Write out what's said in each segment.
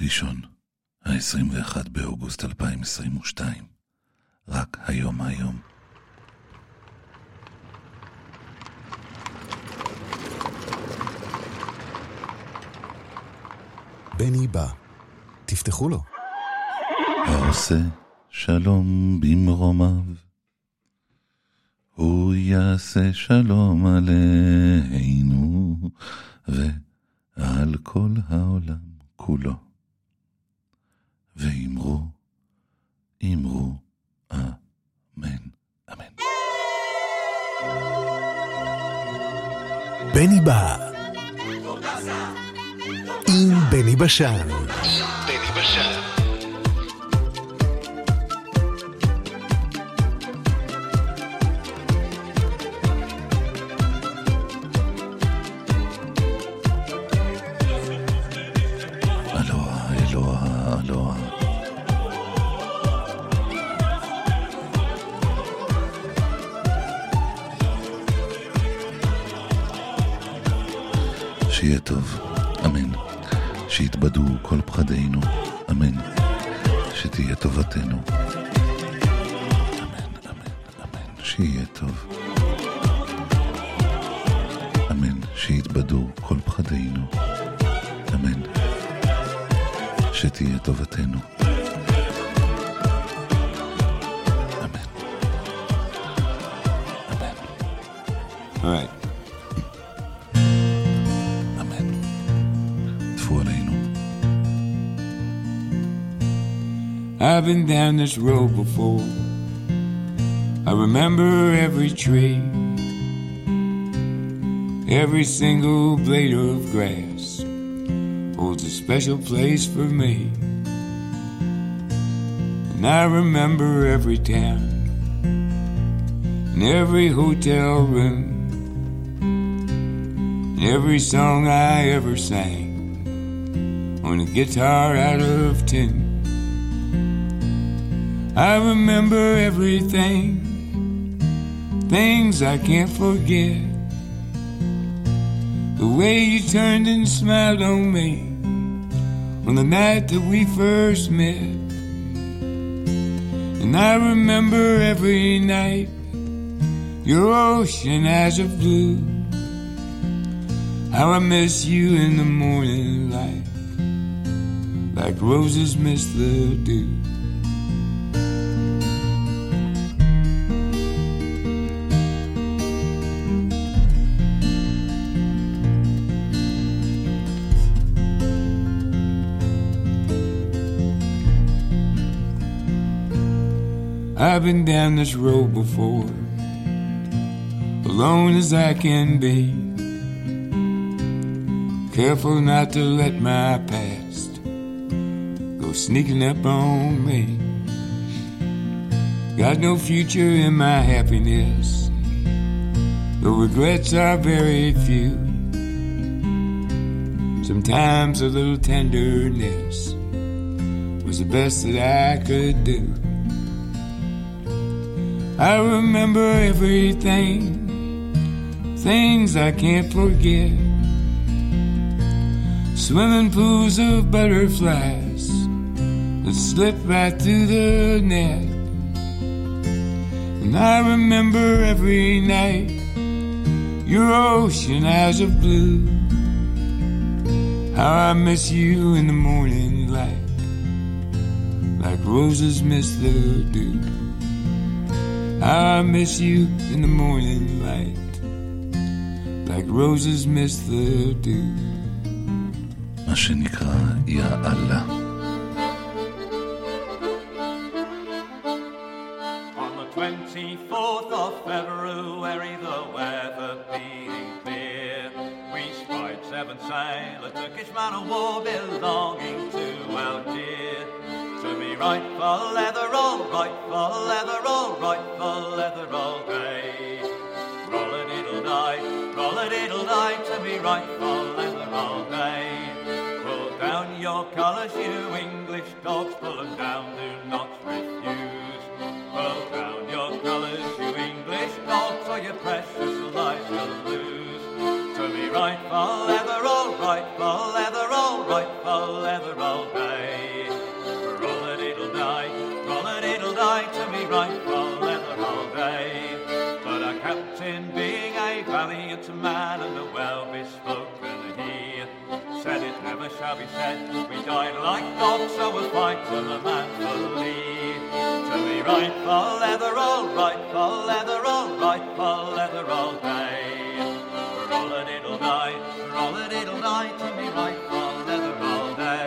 ראשון, ה-21 באוגוסט 2022. רק היום. בני בא, תפתחו לו. העושה שלום במרומיו, הוא יעשה שלום עלינו ועל כל העולם כולו. ואמרו אמן, אמן. בני בא עם בני בשן. אלוה. שיהיה טוב, אמן. שיתבדו כל פחדינו, אמן. שתהיה טובתנו, אמן. שיהיה טוב, אמן. שיתבדו כל פחדינו, אמן. שתהיה טובתנו, אמן. All right. I've been down this road before. I remember every tree, every single blade of grass holds a special place for me. And I remember every town and every hotel room and every song I ever sang on a guitar out of tune. I remember everything, things I can't forget. The way you turned and smiled on me on the night that we first met. And I remember every night your ocean eyes of blue. How I miss you in the morning light, like roses miss the dew. I've been down this road before, alone as I can be, careful not to let my past go sneaking up on me. Got no future in my happiness, the regrets are very few. Sometimes a little tenderness was the best that I could do. I remember everything, things I can't forget. Swimming pools of butterflies that slip right through the net. And I remember every night your ocean eyes of blue. How I miss you in the morning light, like roses miss the dew. I miss you in the morning light, like roses miss the dew. מה שנקרא יא אללה. On the 24th of February, the weather being clear, we spied 7 sail, a Turkish man of war belonging to Algiers. To me right for leather, all right for leather, all right for leather all day. Roll-a-diddle-die, to me right for leather all day. Pull down your colours, you English dogs, pull them down, do not refuse. Pull down your colours, you English dogs, or your precious lives you'll lose. To me right for leather, all right for leather, all right for leather all day. shall be said. We died like dogs, so we'll fight till the man will leave. To be right for leather, all right for leather, all right for leather all day. Roll-a-diddle-die, roll-a-diddle-die, to be right for leather all day.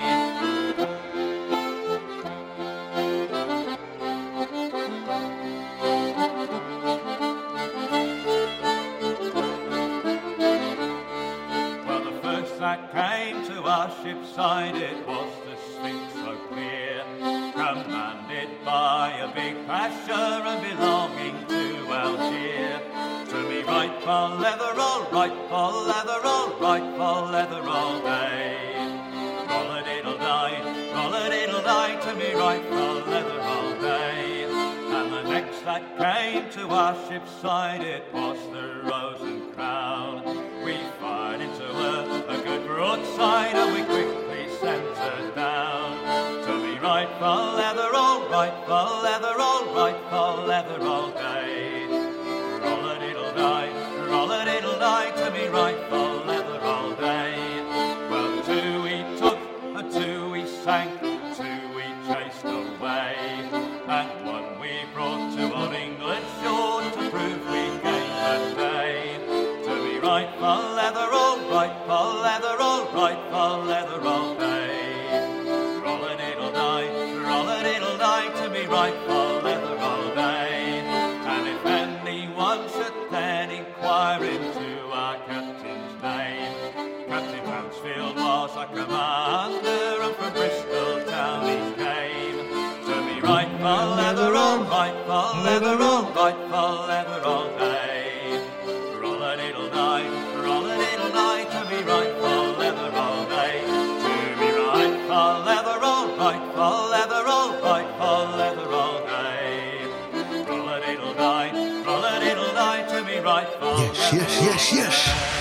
That came to our ship's side, it was the Sphinx so clear, commanded by a big pasher and belonging to Algiers. To be right for leather, all right for leather, all right for leather all day. Roll-a-diddle-die, roll-a-diddle-die, to be right for leather all day. And the next that came to our ship's side, it was the Rose and Crown. We fired into her a good broadside and we quickly sent her down. To be right for leather, all right for leather, all right for leather all day. Roll-a-diddle-die, roll-a-diddle-die, to be right for leather all day. Well, two we took, two we sank, two we chased away, and one we brought to old England shore to prove we gained the day. To be right for leather, all right for leather, all right for leather all day. Roll-a-diddle-die, roll-a-diddle-die, to be right for leather all day. And if anyone should then inquire into our captain's name, Captain Mansfield was our commander, and from Bristol town he came. To be right for leather, all right for leather, all right for leather all day. Roll-a-diddle-die, roll-a-diddle-die, to be right for leather all day. To be right for leather, all right for leather, all right for leather all day. Roll-a-diddle-die, roll-a-diddle-die, to be right for leather. Yes.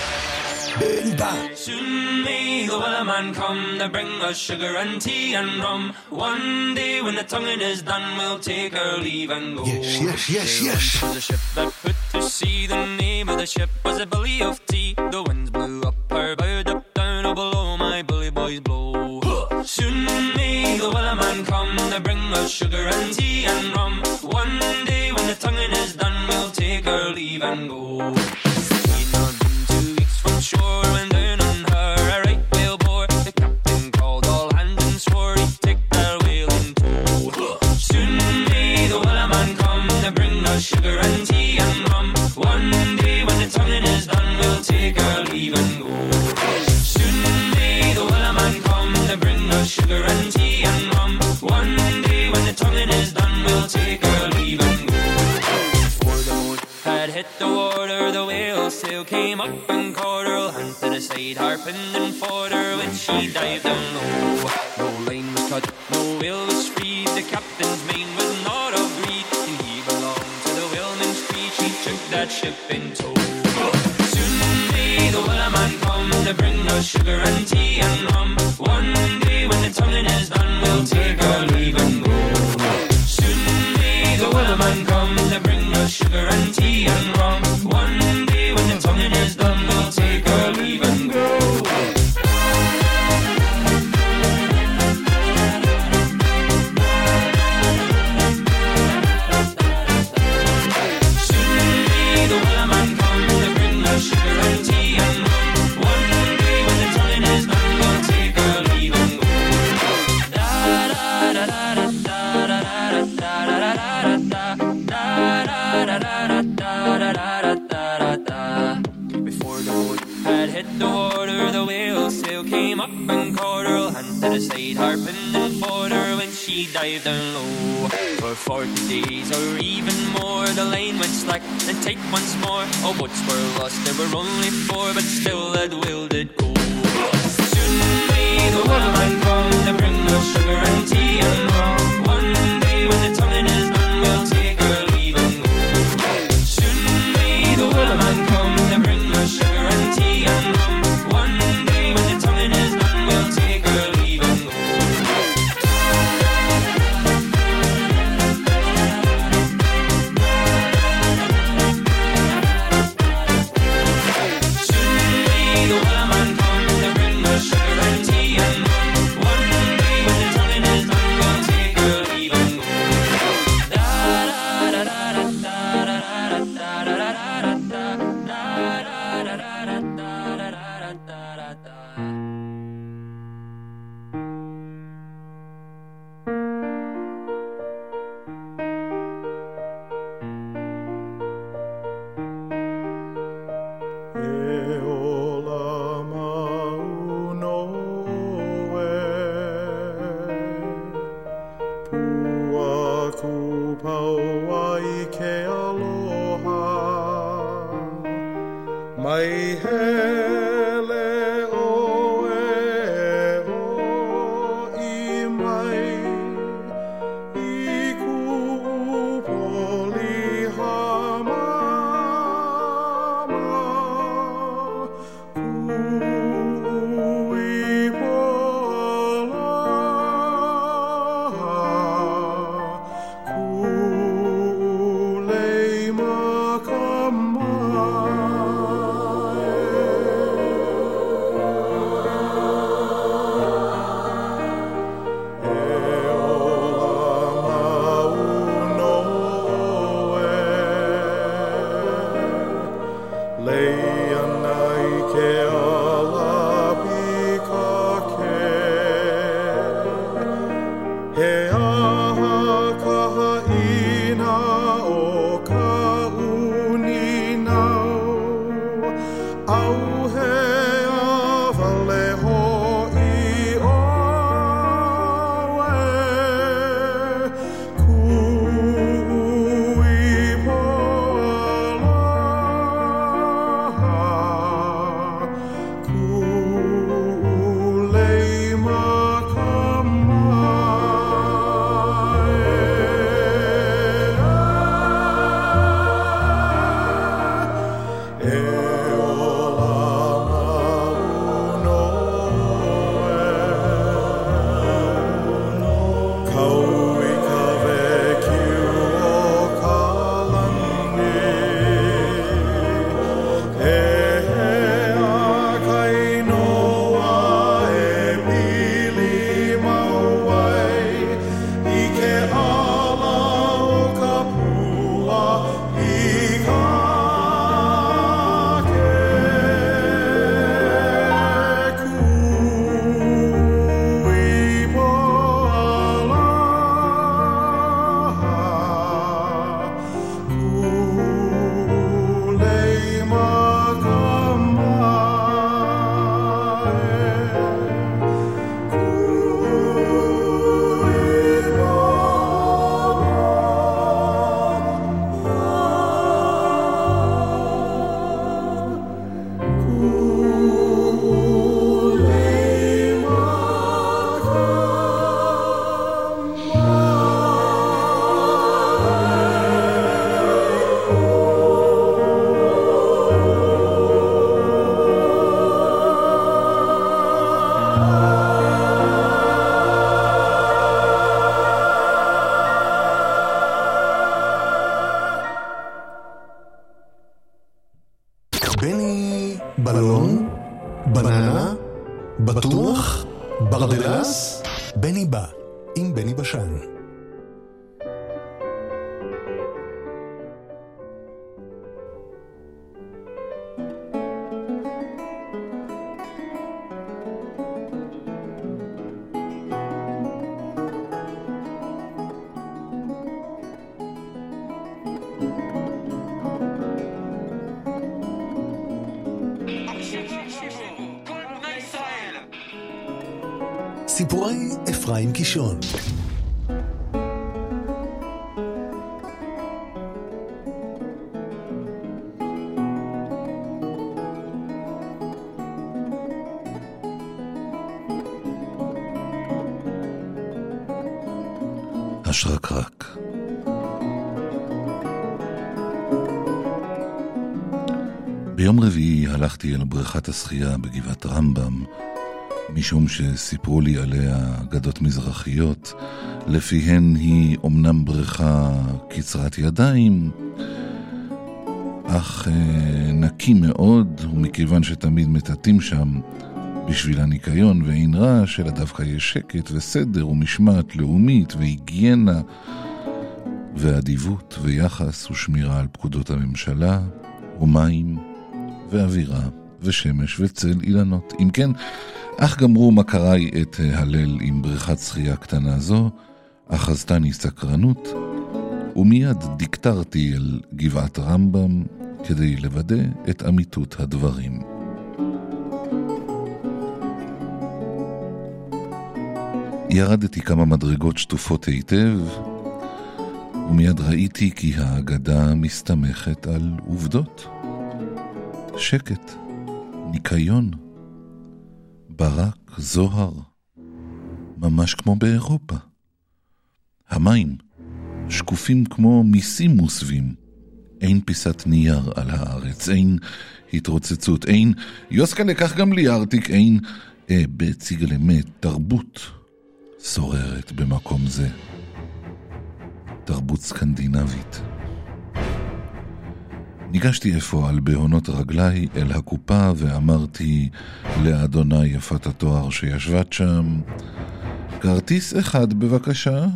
Beni ba. Soon may the wellerman come to bring us sugar and tea and rum. One day when the tonguing is done, we'll take our leave and go. Yes. There was a ship that put to sea. The name of the ship was a Billy of Tea. The winds blew up her bow, up down, oh below my bully boys blow. Soon may the wellerman come to bring us sugar and tea and rum. One day when the tonguing is done, we'll take our leave and go. Shore went down on her a right whale bore. The captain called all hands and swore he'd take their whale in tow. Soon may the wellerman come to bring us sugar and tea and rum. One day when the tonguing is done, we'll take our leave and go. Soon may the wellerman come to bring us sugar and tea and rum. One day when the tonguing is done, we'll take our leave and go. Before the boat had hit the water, the whale sail came up and caught her hand to the side, harping and fought her when she dived down low. No line was cut, no whale was freed. The captain's mane was not of greed, and he belonged to the whaleman's creed. She took that ship in tow. Soon may the wellerman come to bring us sugar and tea and rum. One day when the tonguing is done, we'll take our leave and go. Soon may the wellerman come to bring us sugar and tea and rum. One day when the tonguing is done, we'll take our leave and go. Soon may the wellerman come to bring us sugar and tea and rum. One day when the tonguing is done, we'll take our leave and go. Da da da da da da da da da da. Before the boat had hit the water, the whale sail came up and caught her hand to the side, harping and fought her when she dived down low. For 40 days or even more, the line went slack and tight once more. All boats were lost, there were only 4, but still that whale did go. Soon may the wellerman come to bring us sugar and tea and rum. One day when the tonguing is done, we'll take our leave and go. Soon may the wellerman come to bring us sugar and tea and rum. One day when the tonguing is done, we'll take our leave and go. Soon may the wellerman come to bring us sugar and tea בני בלון, בננה, בטוח, ברדלס, בני בא, עם בני בשן. סיפורי אפרים קישון. השרקרק. ביום רביעי הלכתי אל בריכת השחייה בגבעת רמב"ם, משום שסיפרו לי עליה אגדות מזרחיות, לפיהן היא אומנם בריכה קצרת ידיים, אך נקי מאוד, ומכיוון שתמיד מטאטים שם בשביל הניקיון ואין רעש, אלא דווקא יש שקט וסדר ומשמעת לאומית והיגיינה ואדיבות ויחס ושמירה על פקודות הממשלה ומים ואווירה ושמש וצל אילנות. אם כן, אך גמרו מכריי את הלל עם בריכת שחייה קטנה זו, אחזתני סקרנות, ומיד דיקטרתי אל גבעת רמב"ם כדי לוודא את אמיתות הדברים. ירדתי כמה מדרגות שטופות היטב, ומיד ראיתי כי האגדה מסתמכת על עובדות. שקט, ניקיון, ברק, זוהר, ממש כמו באירופה. המים שקופים כמו מיסים מוסווים. אין פיסת נייר על הארץ, אין התרוצצות, אין יוסקה לקח גם לי ארטיק, אין בציג למת, תרבות שוררת במקום זה. תרבות סקנדינבית. ניגשתי אפוא על בהונות רגליי אל הקופה ואמרתי לאדוני יפת התואר שישבת שם, כרטיס אחד בבקשה.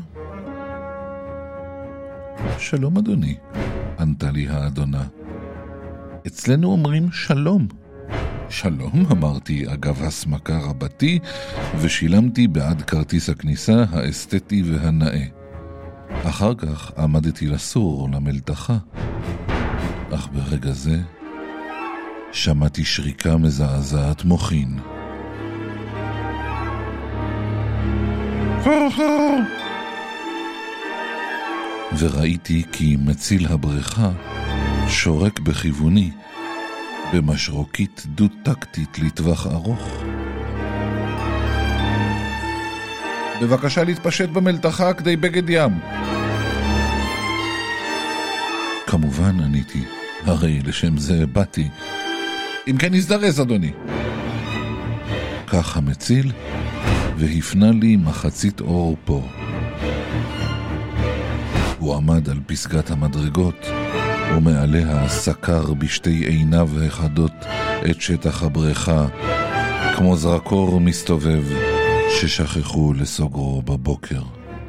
שלום אדוני, ענתה לי האדונה. אצלנו אומרים שלום. שלום, אמרתי אגב הסמכה רבתי, ושילמתי בעד כרטיס הכניסה האסתטי והנאה. אחר כך עמדתי לסור למלתחה. אך ברגע זה שמעתי שריקה מזעזעת מוחין. וראיתי כי מציל הבריכה שורק בכיווני במשרוקית דו-טקטית לטווח ארוך. בבקשה להתפשט במלתחה כדי בגד ים. כמובן עניתי, הרי לשם זה באתי. אם כן נזדרז אדוני. כך המציל והפנה לי מחצית אור פה. הוא עמד על פסגת המדרגות ומעליה סקר בשתי עיניו האחדות את שטח הבריכה כמו זרקור מסתובב ששכחו לסוגרו בבוקר.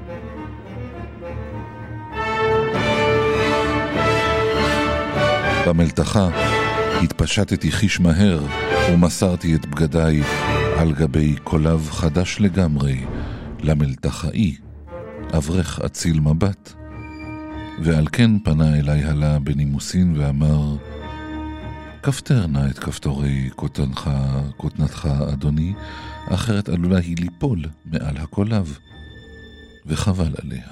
במלתחה התפשטתי חיש מהר ומסרתי את בגדיי על גבי קולב חדש לגמרי למלתחאי, אברך אציל מבט, ועל כן פנה אליי הלה בנימוסין ואמר, כפתר נא את כפתורי כותנתך אדוני, אחרת עלולה היא ליפול מעל הקולב, וחבל עליה.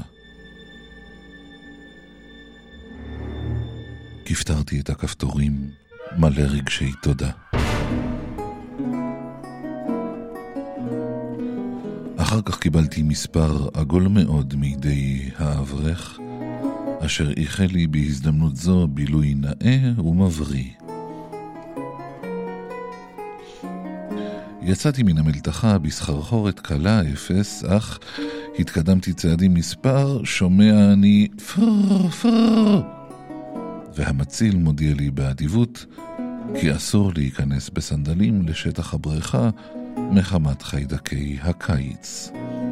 כפתרתי את הכפתורים מלא רגשי תודה. אחר כך קיבלתי מספר עגול מאוד מידי האברך, אשר איחל לי בהזדמנות זו בילוי נאה ומבריא. יצאתי מן המלתחה בסחרחורת קלה אפס, אך התקדמתי צעדים מספר, שומע אני פר פר, והמציל מודיע לי באדיבות כי אסור להיכנס בסנדלים לשטח הבריכה מחמת חיידקי הקיץ.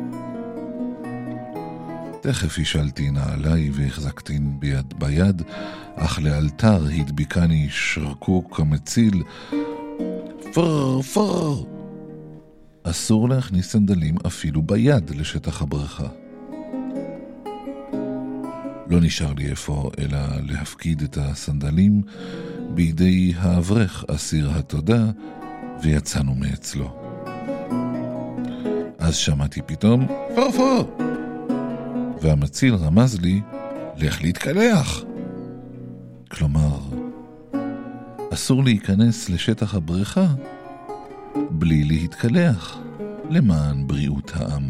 תכף השלתי נעליי והחזקתין ביד, אך לאלתר הדביקני שרקוק המציל, פר פר, אסור להכניס סנדלים אפילו ביד לשטח הבריכה. לא נשאר לי איפה אלא להפקיד את הסנדלים בידי האברך אסיר התודה, ויצאנו מאצלו. אז שמעתי פתאום פר פר, והמציל רמז לי לך להתקלח. כלומר, אסור להיכנס לשטח הבריכה בלי להתקלח למען בריאות העם.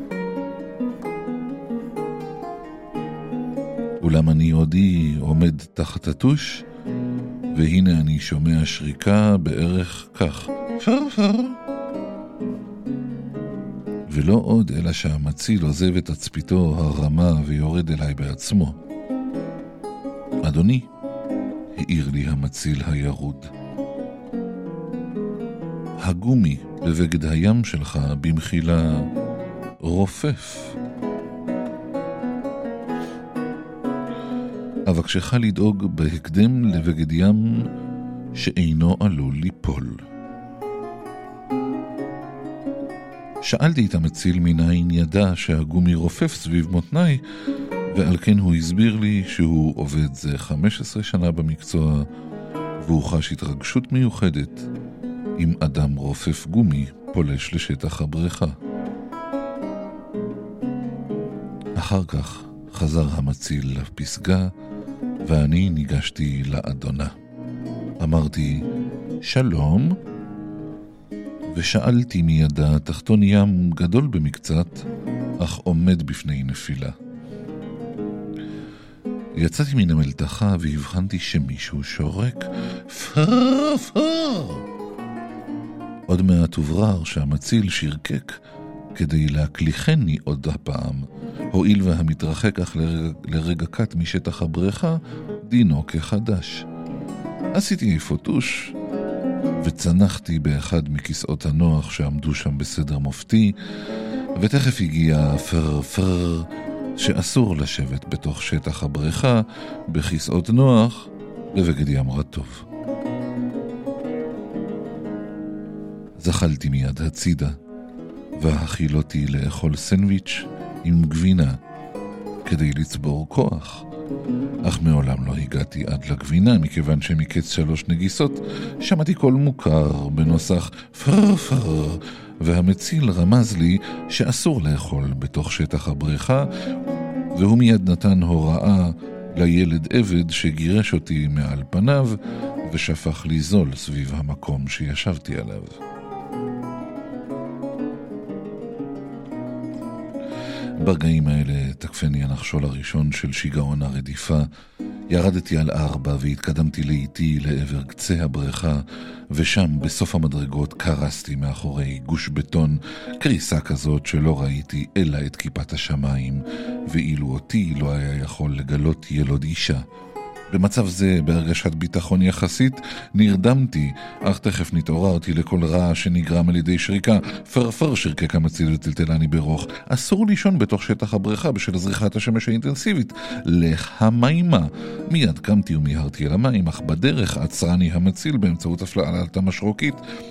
אולם אני עודי עומד תחת הטוש, והנה אני שומע שריקה בערך כך, פר פר. ולא עוד אלא שהמציל עוזב את תצפיתו הרמה ויורד אליי בעצמו. אדוני, העיר לי המציל הירוד, הגומי בבגד הים שלך במחילה רופף. אבקשך לדאוג בהקדם לבגד ים שאינו עלול ליפול. שאלתי את המציל מניין ידע שהגומי רופף סביב מותניי, ועל כן הוא הסביר לי שהוא עובד זה 15 שנה במקצוע, והוא חש התרגשות מיוחדת אם אדם רופף גומי פולש לשטח הבריכה. אחר כך חזר המציל לפסגה, ואני ניגשתי לאדונה. אמרתי שלום, ושאלתי מידה תחתון ים גדול במקצת, אך עומד בפני נפילה. יצאתי מן המלתחה והבחנתי שמישהו שורק פר פר. עוד מעט הוברר שהמציל שרקק כדי להקליחני עוד הפעם, הועיל והמתרחק אך לרגע קט משטח הבריכה דינו כחדש. עשיתי פוטוש וצנחתי באחד מכיסאות הנוח שעמדו שם בסדר מופתי, ותכף הגיע פר פר שאסור לשבת בתוך שטח הבריכה בכיסאות נוח בבגד ים רטוב. זחלתי מיד הצידה והחילותי לאכול סנדוויץ' עם גבינה כדי לצבור כוח, אך מעולם לא הגעתי עד לגבינה, מכיוון שמקץ 3 נגיסות שמעתי קול מוכר בנוסח פר פר, והמציל רמז לי שאסור לאכול בתוך שטח הבריכה, והוא מיד נתן הוראה לילד עבד שגירש אותי מעל פניו ושפך לי זול סביב המקום שישבתי עליו. ברגעים האלה תקפני הנחשול הראשון של שיגעון הרדיפה. ירדתי על 4 והתקדמתי לאיטי לעבר קצה הבריכה, ושם בסוף המדרגות קרסתי מאחורי גוש בטון, קריסה כזאת שלא ראיתי אלא את כיפת השמיים, ואילו אותי לא היה יכול לגלות ילוד אישה. במצב זה, בהרגשת ביטחון יחסית, נרדמתי, אך תכף נתעוררתי לכל רע שנגרם על ידי שריקה. פרפר שרקק המציל וטלטלני ברוך. אסור לישון בתוך שטח הבריכה בשל זריחת השמש האינטנסיבית. להמיימה. מיד קמתי ומיהרתי אל המים, אך בדרך עצרני המציל באמצעות הפעלת המשרוקית.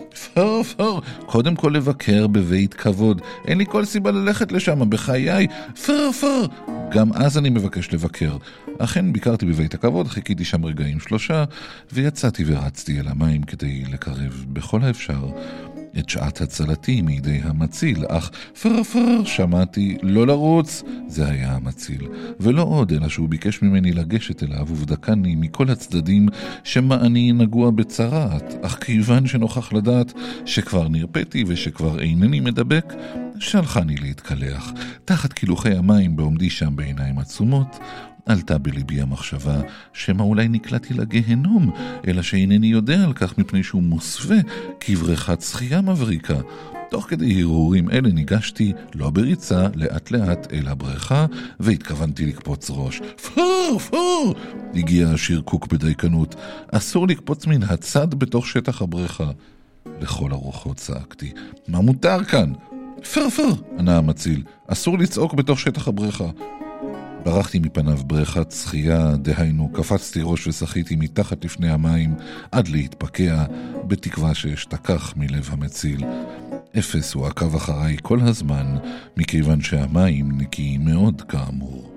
פרפר, קודם כל לבקר בבית כבוד. אין לי כל סיבה ללכת לשם בחיי. פרפר, גם אז אני מבקש לבקר. אכן ביקרתי בבית הכבוד, חיכיתי שם רגעים 3, ויצאתי ורצתי אל המים כדי לקרב בכל האפשר את שעת הצלתי מידי המציל, אך פרפר שמעתי לא לרוץ, זה היה המציל, ולא עוד אלא שהוא ביקש ממני לגשת אליו ובדקני מכל הצדדים שמה אני נגוע בצרת, אך כיוון שנוכח לדעת שכבר נרפאתי ושכבר אינני מדבק, שלחני להתקלח. תחת קילוחי המים בעומדי שם בעיניים עצומות, עלתה בליבי המחשבה שמה אולי נקלעתי לגהנום, אלא שאינני יודע על כך מפני שהוא מוסווה כבריכת שחייה מבריקה. תוך כדי הרהורים אלה ניגשתי, לא בריצה, לאט לאט אל הבריכה, והתכוונתי לקפוץ ראש. פור, פור! הגיע השרקוק בדייקנות. אסור לקפוץ מן הצד בתוך שטח הבריכה. לכל הרוחות צעקתי, מה מותר כאן? פר פר, ענה המציל, אסור לצעוק בתוך שטח הבריכה. ברחתי מפניו בריכת שחייה, דהיינו, קפצתי ראש ושחיתי מתחת לפני המים עד להתפקע, בתקווה שאשתכח מלב המציל. אפס הוא עקב אחריי כל הזמן, מכיוון שהמים נקיים מאוד כאמור.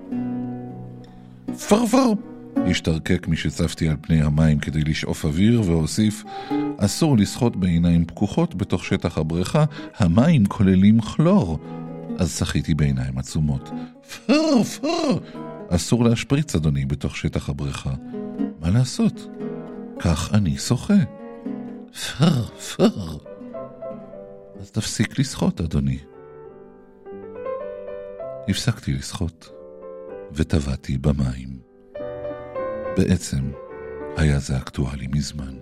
פרפר! השתרקק משצפתי על פני המים כדי לשאוף אוויר, והוסיף, אסור לשחות בעיניים פקוחות בתוך שטח הבריכה, המים כוללים כלור. אז שחיתי בעיניים עצומות. פר, פר! אסור להשפריץ, אדוני, בתוך שטח הבריכה. מה לעשות? כך אני שוחה. פר, פר! אז תפסיק לשחות, אדוני. הפסקתי לשחות, וטבעתי במים. בעצם, היה זה אקטואלי מזמן.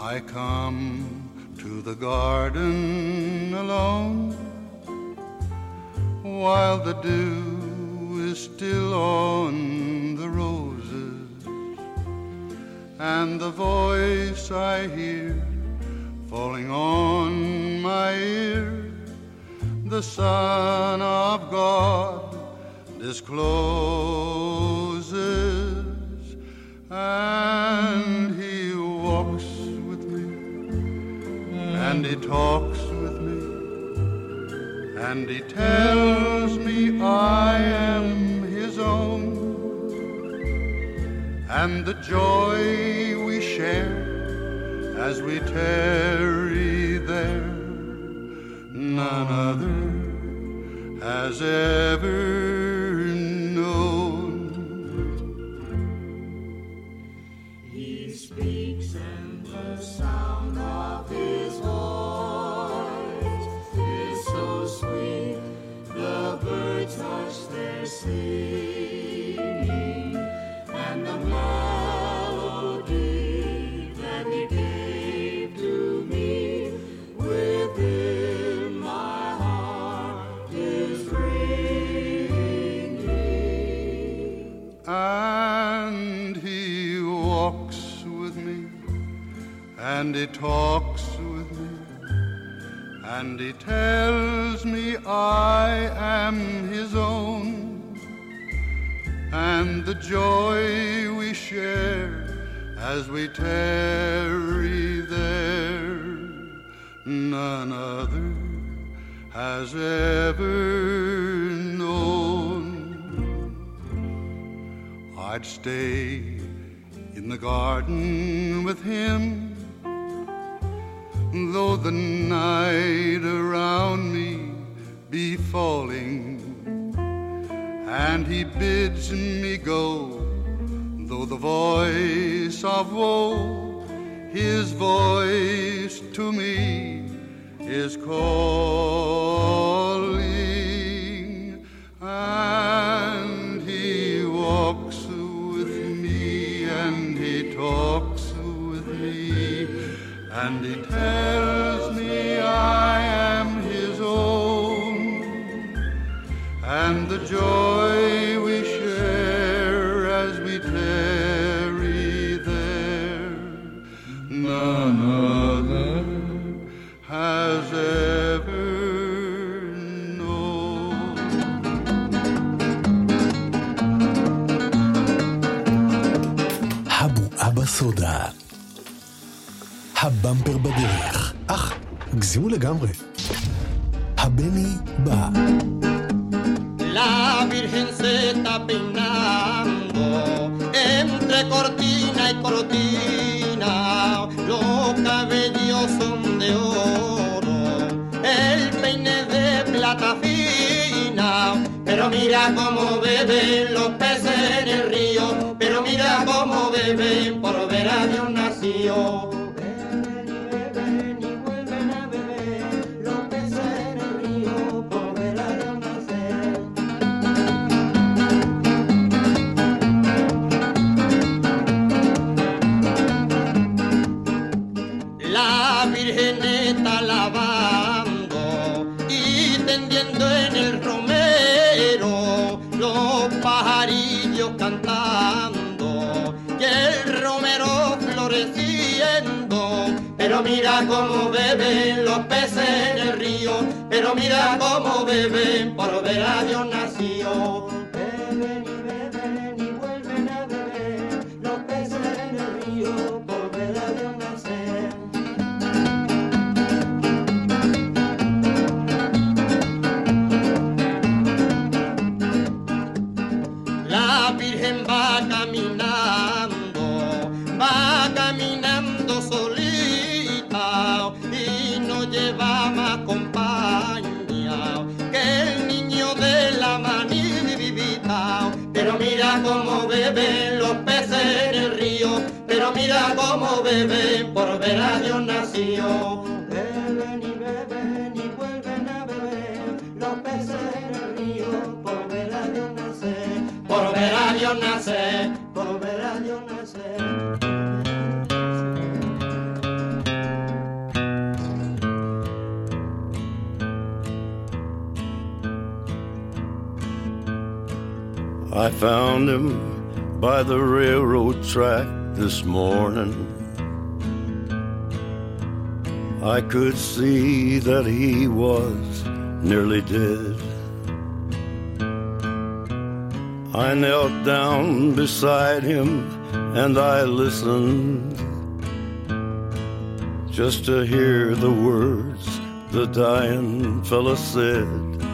I come to the garden alone, while the dew is still on the roses, and the voice I hear falling on my ear, the Son of God discloses, and He walks with me, and He talks with me, and He tells me I am His own, and the joy we share as we tarry there, none other has ever known. He speaks and the sound of His voice is so sweet, the birds hush their singing, and the melody that He gave to me within my heart is ringing. And He walks with me, and He talks with me, and He tells me I am His own, and the joy we share as we tarry there, none other has ever known. I'd stay in the garden with Him, though the night around me be falling, and He bids me go, though the voice of woe, His voice to me is calling, and He walks with me, and He talks with me, and He tells me I am His own, and the joy we share as we tarry there, none other has ever known. הבועה בסודה. הבמפר בדרך. הגזימו לגמרי. הבני בא. La Virgen se está peinando entre cortina y cortina, los cabellos son de oro, el peine de plata fina, pero mira cómo beben los peces en el río, pero mira cómo beben por ver a Dios nacido. Cantando y el romero floreciendo, pero mira cómo beben los peces en el río, pero mira cómo beben por ver a Dios nacido. Beben y vuelven a beber los peces en el río por ver a Dios nacer. La Virgen va caminando solita y no lleva más compañía que el niño de la manivita. Pero mira cómo beben los peces en el río, pero mira cómo beben por ver a Dios nacido. Beben y vuelven a beber los peces en el río por ver a Dios nacer, por ver a Dios nacer, por ver a Dios nacer. I found him by the railroad track this morning. I could see that he was nearly dead. I knelt down beside him and I listened just to hear the words the dying fella said.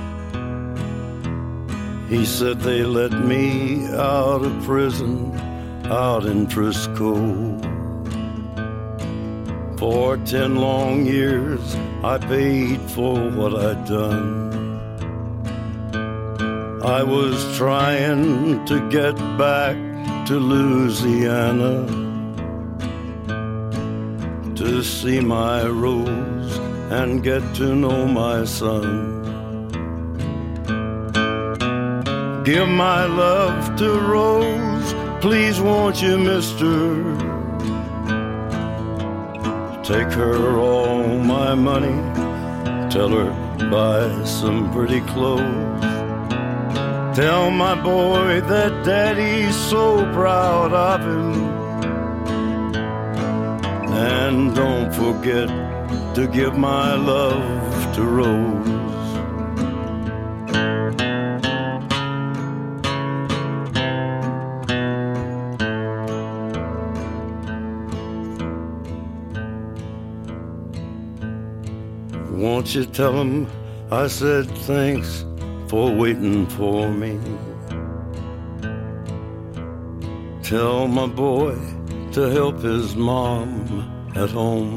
He said they let me out of prison out in Frisco. For 10 long years I paid for what I'd done. I was trying to get back to Louisiana to see my Rose and get to know my son. Give my love to Rose, please won't you, mister? Take her all my money, tell her buy some pretty clothes. Tell my boy that daddy's so proud of him. And don't forget to give my love to Rose. Won't you tell him I said thanks for waiting for me? Tell my boy to help his mom at home.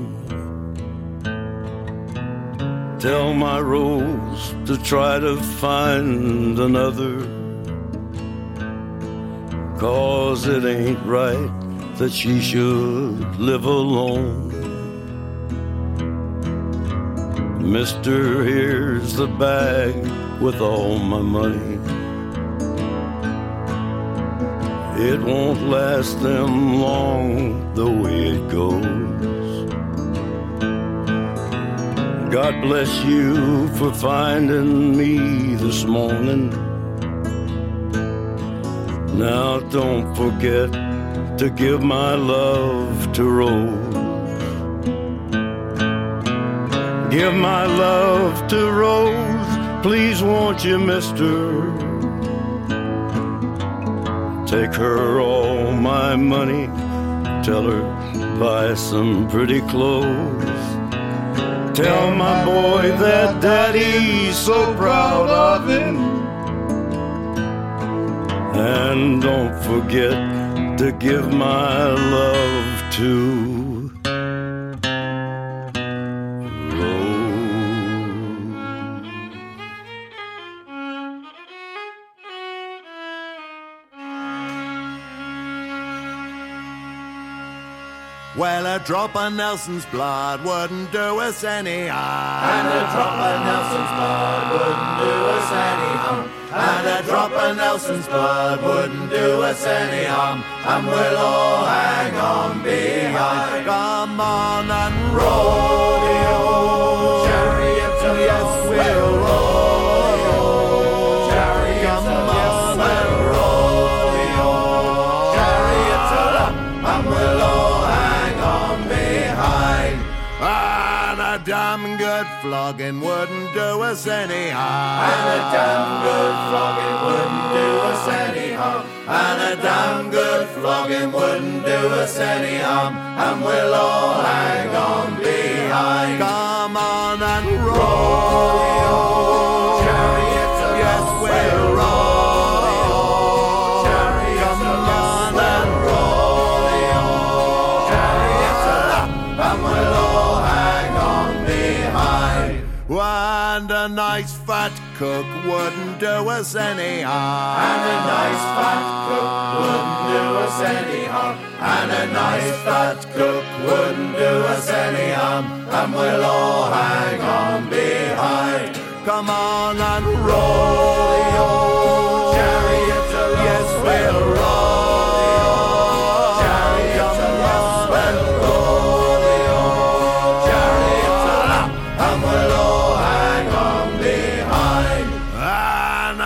Tell my Rose to try to find another, 'cause it ain't right that she should live alone. Mister, here's the bag with all my money. It won't last them long the way it goes. God bless you for finding me this morning. Now don't forget to give my love to Rose. Give my love to Rose, please won't you, mister? Take her all my money, tell her buy some pretty clothes. Tell my boy that daddy's so proud of him. And don't forget to give my love to Well, a drop of Nelson's blood wouldn't do us any harm. And a drop of Nelson's blood wouldn't do us any harm. And a drop of Nelson's blood wouldn't do us any harm. And we'll all hang on behind. Come on and rodeo, chariots of yes, we'll rodeo. Chariots Come of yes, on and rodeo, chariots of and we'll all and a damn good flogging wouldn't do us any harm. And a damn good flogging wouldn't do us any harm. And a damn good flogging wouldn't do us any harm. And we'll all hang on behind. Come on and rodeo, chariots of yes, we'll rodeo. Chariots Come of on and rodeo, chariots of and we'll all hang on behind. And a nice fat cook wouldn't do us any harm. And a nice fat cook wouldn't do us any harm. And a nice fat cook wouldn't do us any harm. And we'll all hang on behind. Come on and rodeo, Chariots of yes, we'll rodeo. Chariots of Come on and rodeo, Chariots of and we'll all hang on behind. And a nice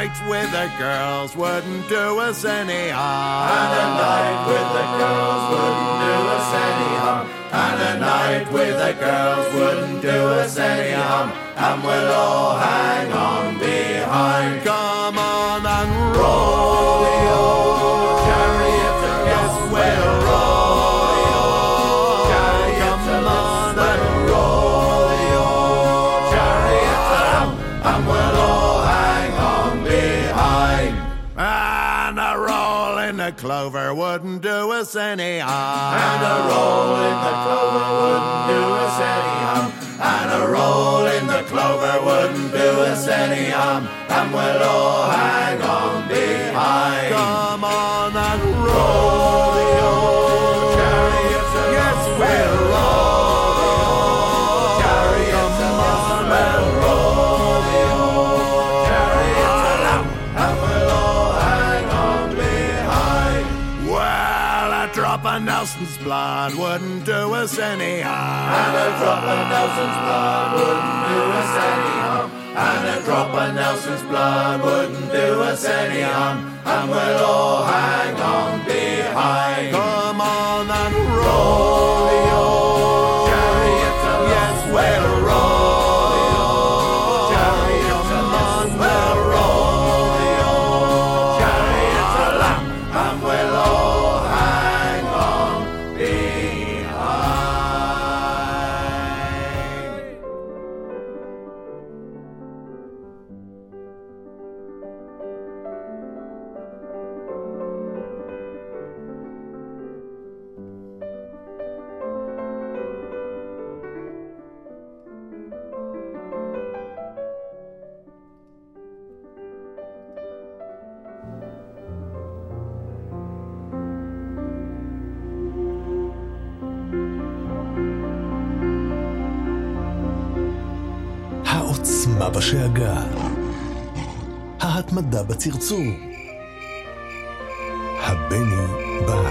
night with the girls wouldn't do us any harm. And a night with the girls wouldn't do us any harm. And a night with the girls wouldn't do us any harm. And we'll all hang on behind. Come on and roll the old chariot and yes, we'll roll the old chariot and roll the old chariot and we'll all hang on behind. And a roll in the clover wouldn't do us any harm. And a roll in the clover wouldn't do us any harm. And a roll in the clover wouldn't do us any harm. And we'll all hang on behind. Come on and roll the old chariots. Yes, we'll roll the old chariots. Come on and roll the old chariots. And we'll all hang on behind. Well, a drop of Nelson's blood wouldn't do us any harm. And a drop of Nelson's blood wouldn't do us any harm. And a drop of Nelson's blood wouldn't do us any harm. And we'll all hang on behind. Come on and roll the old chariot. Yes, we'll roll the old chariot. Come on, we'll roll the old chariot. And we'll all hang on behind. העוצמה בשאגה, ההתמדה בצרצור, הבני בא.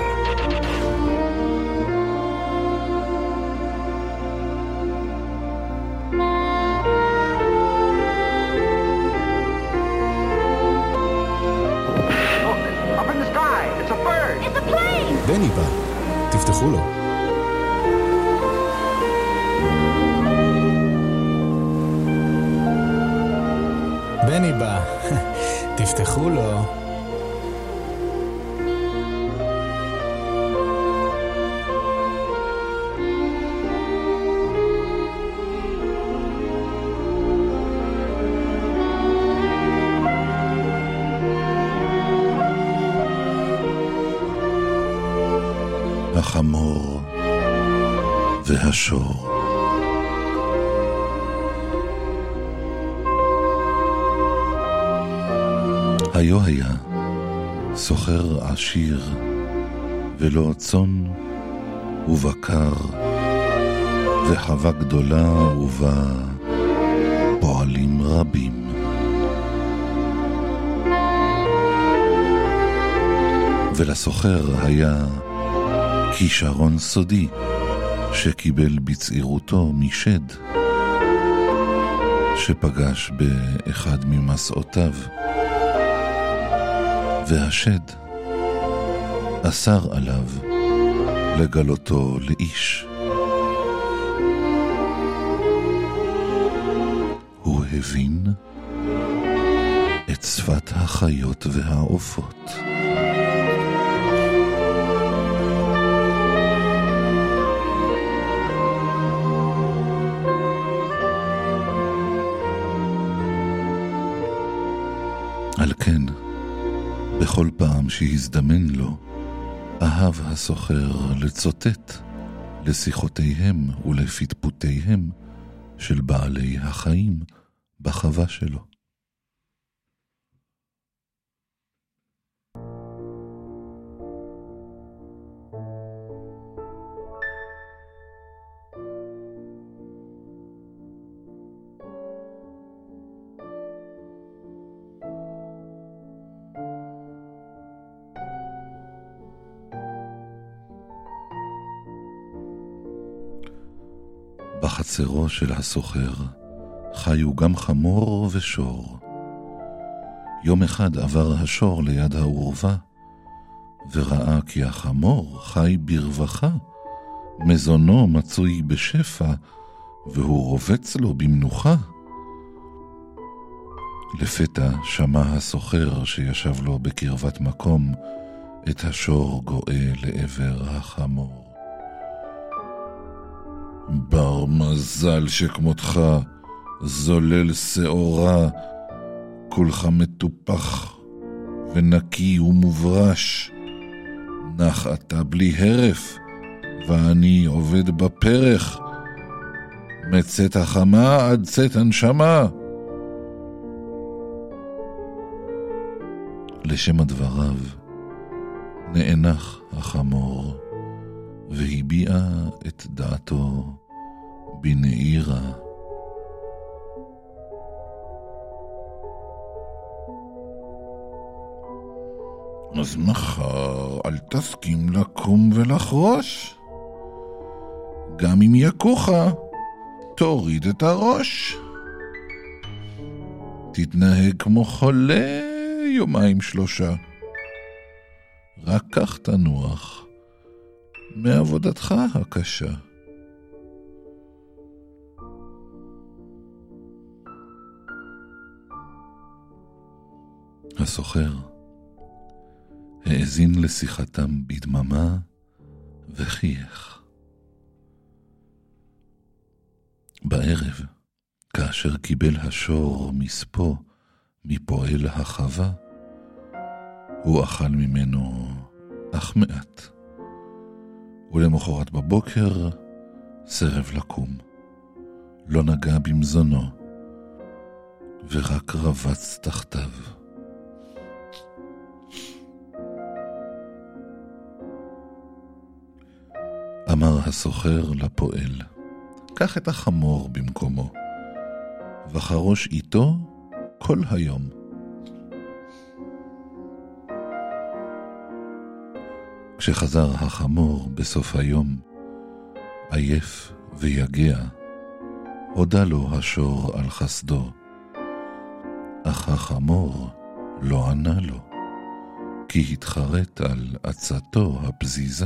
בני בא, תפתחו לו. בני בא, תפתחו לו. החמור והשור. היו היה סוחר עשיר ולא צאן ובקר וחווה גדולה ובה פועלים רבים. ולסוחר היה כישרון סודי שקיבל בצעירותו משד שפגש באחד ממסעותיו, והשד אסר עליו לגלותו לאיש. הוא הבין את שפת החיות והעופות. על כן, בכל פעם שהזדמן לו, אהב הסוחר לצוטט לשיחותיהם ולפטפוטיהם של בעלי החיים בחווה שלו. בחצרו של הסוחר חיו גם חמור ושור. יום אחד עבר השור ליד העורבה, וראה כי החמור חי ברווחה, מזונו מצוי בשפע, והוא רובץ לו במנוחה. לפתע שמע הסוחר שישב לו בקרבת מקום, את השור גואה לעבר החמור. בר מזל שכמותך, זולל שעורה, כולך מטופח ונקי ומוברש. נח אתה בלי הרף, ואני עובד בפרח, מצאת החמה עד צאת הנשמה. לשם הדבריו נאנח החמור, והביע את דעתו בנעירה. אז מחר אל תסכים לקום ולחרוש, גם אם יקוך תוריד את הראש. תתנהג כמו חולה יומיים שלושה, רק כך תנוח מעבודתך הקשה. הסוחר האזין לשיחתם בדממה וחייך. בערב, כאשר קיבל השור מספו מפועל החווה, הוא אכל ממנו אך מעט, ולמחרת בבוקר סרב לקום, לא נגע במזונו, ורק רבץ תחתיו. אמר הסוחר לפועל, קח את החמור במקומו, וחרוש איתו כל היום. כשחזר החמור בסוף היום, עייף ויגע, הודה לו השור על חסדו, אך החמור לא ענה לו, כי התחרט על עצתו הפזיזה.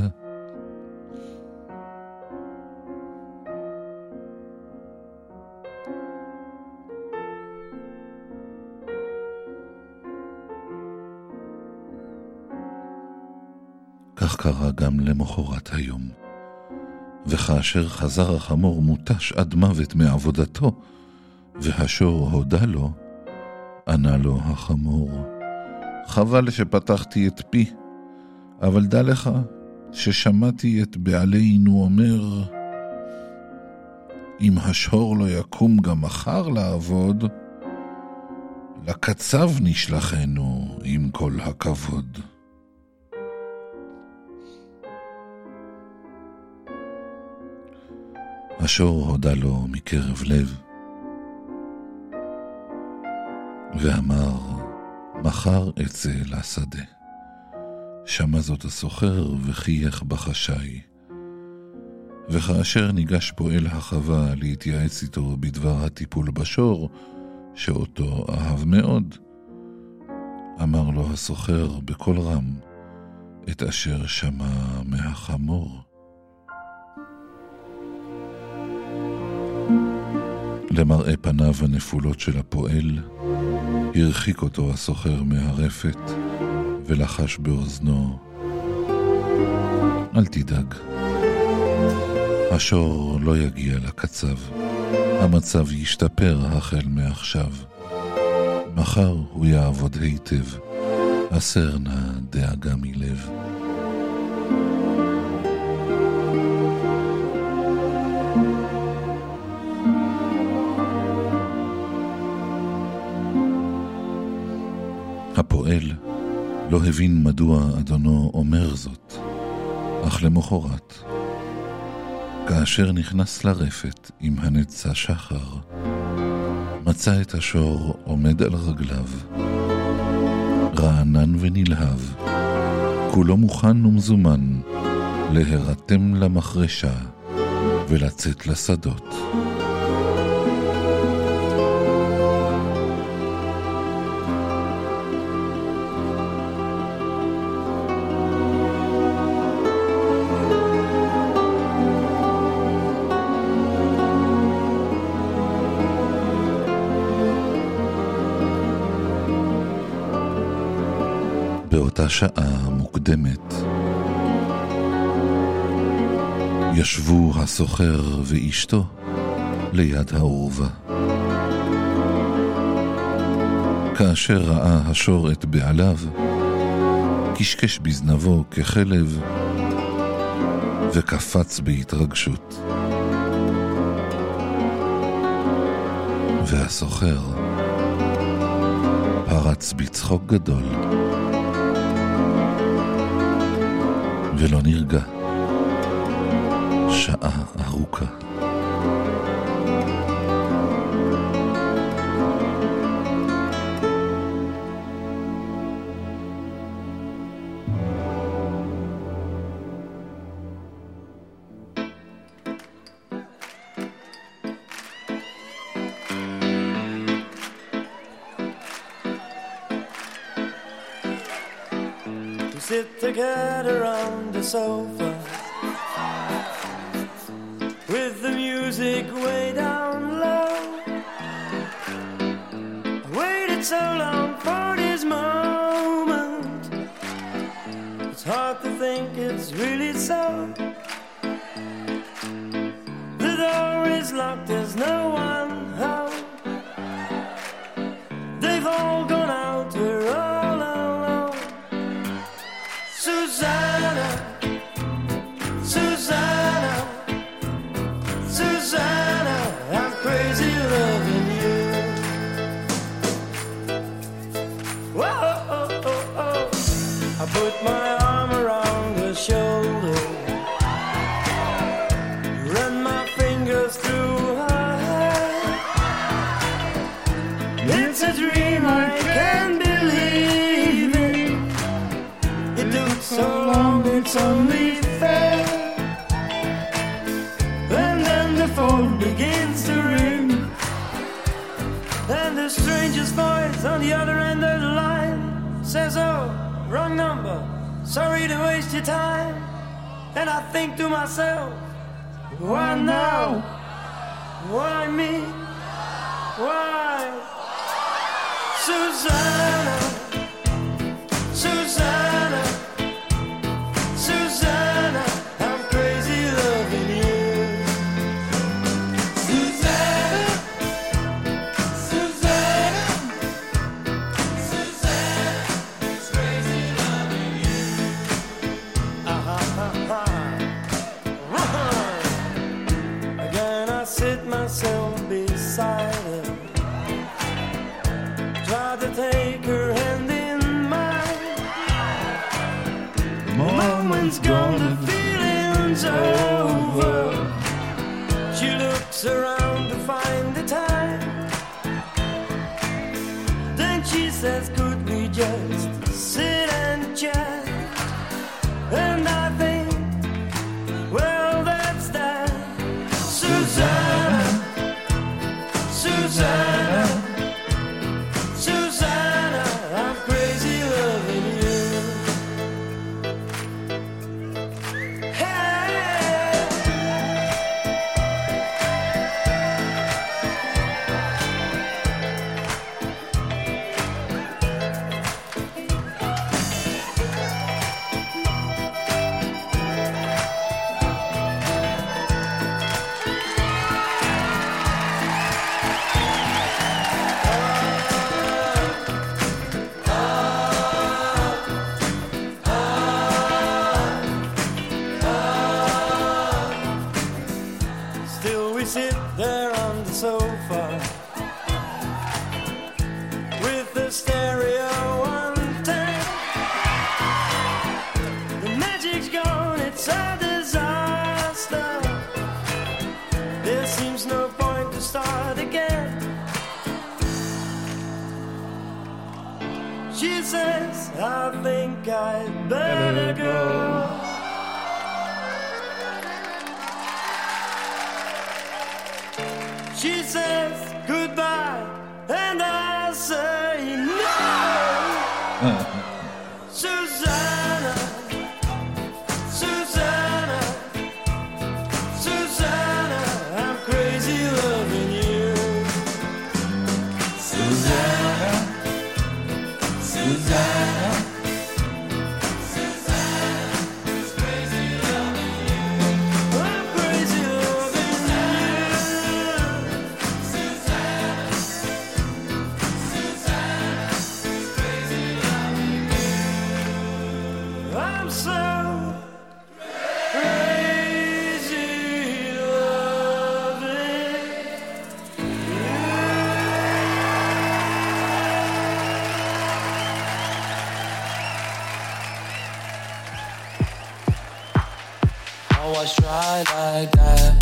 כך קרה גם למחרת היום, וכאשר חזר החמור מוטש עד מוות מעבודתו, והשור הודה לו, ענה לו החמור, חבל שפתחתי את פי, אבל דע לך ששמעתי את בעלינו אומר, אם השור לא יקום גם מחר לעבוד, לקצב נשלחנו עם כל הכבוד. השור הודה לו מקרב לב, ואמר, מחר אצא לשדה. שמע זאת הסוחר וחייך בחשאי. וכאשר ניגש פועל החווה להתייעץ איתו בדבר הטיפול בשור, שאותו אהב מאוד, אמר לו הסוחר בקול רם את אשר שמע מהחמור. למראה פניו הנפולות של הפועל, הרחיק אותו הסוחר מהרפת ולחש באוזנו, אל תדאג, השור לא יגיע לקצב, המצב ישתפר החל מעכשיו, מחר הוא יעבוד היטב, הסר נא דאגה מלב. הפועל לא הבין מדוע אדונו אומר זאת, אך למחרת, כאשר נכנס לרפת עם הנצא שחר, מצא את השור עומד על רגליו, רענן ונלהב, כולו מוכן ומזומן להירתם למחרשה ולצאת לשדות. באותה שעה מוקדמת ישבו הסוחר ואשתו ליד העורבה. כאשר ראה השור את בעליו, קשקש בזנבו כחלב וקפץ בהתרגשות. והסוחר פרץ בצחוק גדול ולא נרגע שעה ארוכה. Sit together on the sofa with the music way down low. I waited so long for this moment. It's hard to think it's really so. The door is locked, there's no one home. They've all gone out, we're all alone. Susanna, Susanna, Susanna, I'm crazy loving you. Whoa, oh, oh, oh. I put my arm around her shoulder, run my fingers through her hair. It's a dream, I can't believe it. It took so long, it's only fair. And then the phone begins to ring, and the stranger's voice on the other end of the line says, oh, wrong number, sorry to waste your time. And I think to myself, why now? Why me? Why? Susanna, Susanna, Susanna, I'm crazy loving you. Susanna, Susanna, Susanna, it's crazy loving you. Again I sit myself beside her, try to take her hand in mine. The moment's gone, the feeling's over. She looks around to find the time, then she says, could we just sit and chat? And I think, well, that's that. Susanna, Susanna, Susanna, I'm crazy loving you. Still we sit there on the sofa with the stereo on tap. The magic's gone, it's a disaster. There seems no point to start again. She says, I think I'd better go. She says goodbye, and I say no. Susanna, Susanna, Susanna, I'm crazy loving you. Susanna, Susanna, always try like that.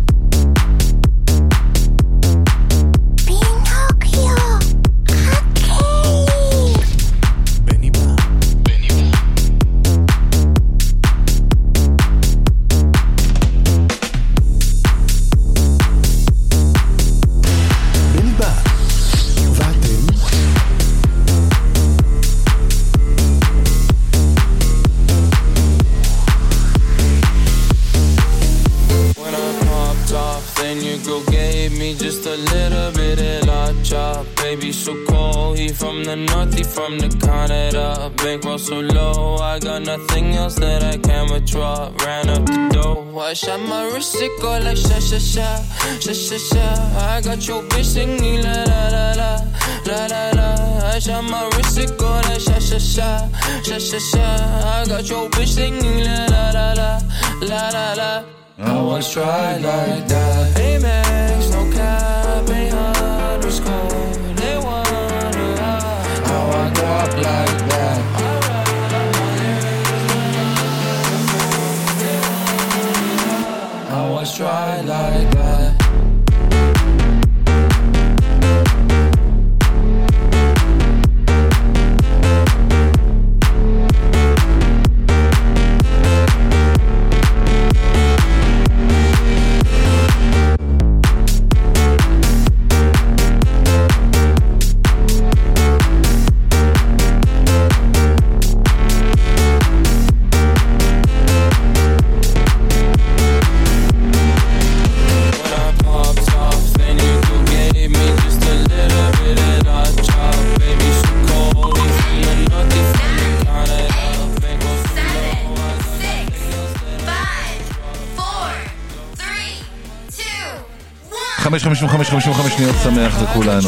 So cold, he from the north, he from the Canada. Bankroll so low, I got nothing else that I can withdraw. Ran up the dough, I shot my wrist, it go like sha sha sha, sha sha sha. I got your bitch singing la la la la, la la la. I shot my wrist, it go like sha sha sha, sha sha sha. I got your bitch singing la la la la, la la la. I always try like that. Amex, no cap, ain't underscore. Like that. I always try like that. חמש שניות שמח לכולנו.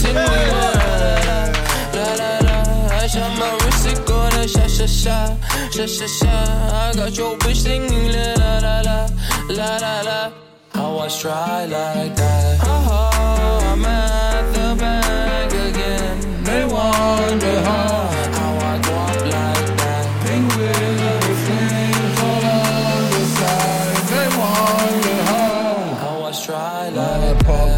I got your bitch singing la la la la, la la la. I always try like that. I'm at the bank again. They wonder how I go up like that. Pink with flames all on the side. They wonder how I always try like that.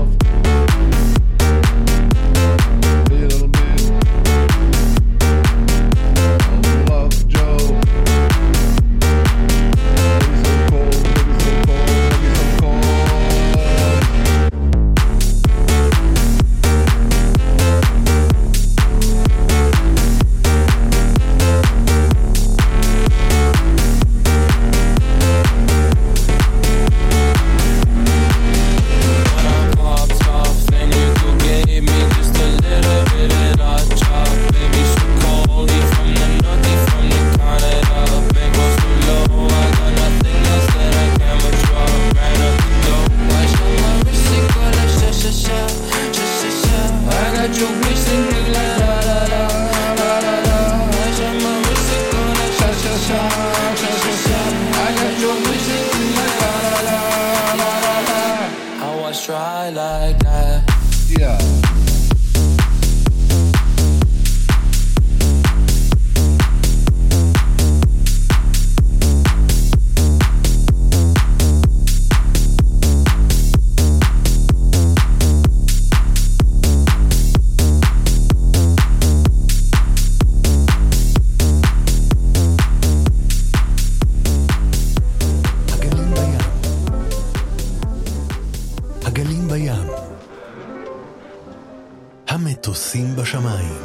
המטוסים בשמיים,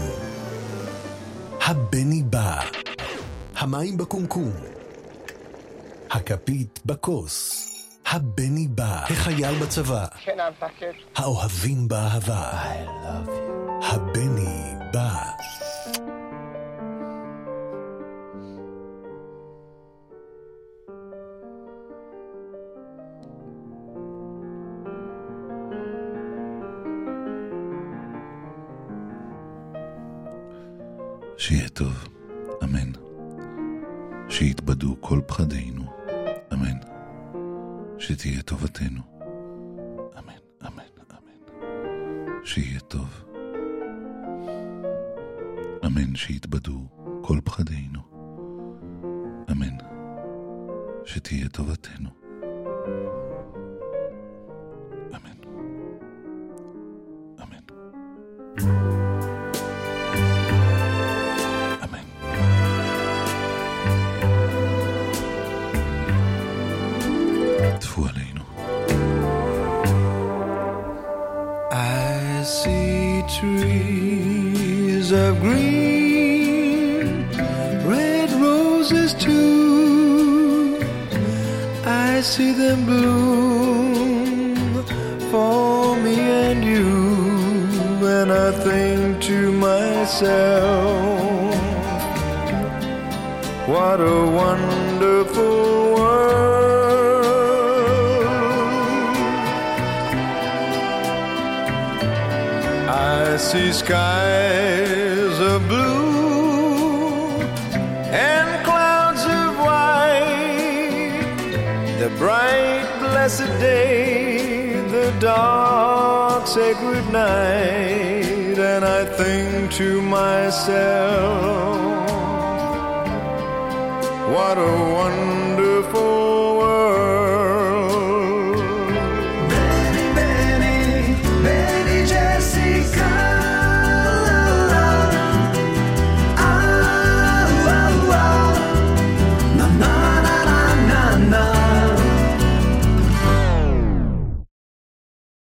הבני בא, המים בקומקום, הכפית בכוס, הבני בא, החייל בצבא, האוהבים באהבה, הבני בא. שיהיה טוב, אמן. שיתבדו כל פחדינו, אמן. שתהיה טובתנו, אמן, אמן, אמן. שיהיה טוב, אמן. שיתבדו כל פחדינו, אמן. שתהיה טובתנו. אמן. אמן. אמן. טפו עלינו. I see trees of green, red roses too. I see them bloom for me and you, and I think to myself, what a wonderful world. I see skies of blue and clouds of white, the bright blessed day, the dark sacred night, and I think to myself, what a wonderful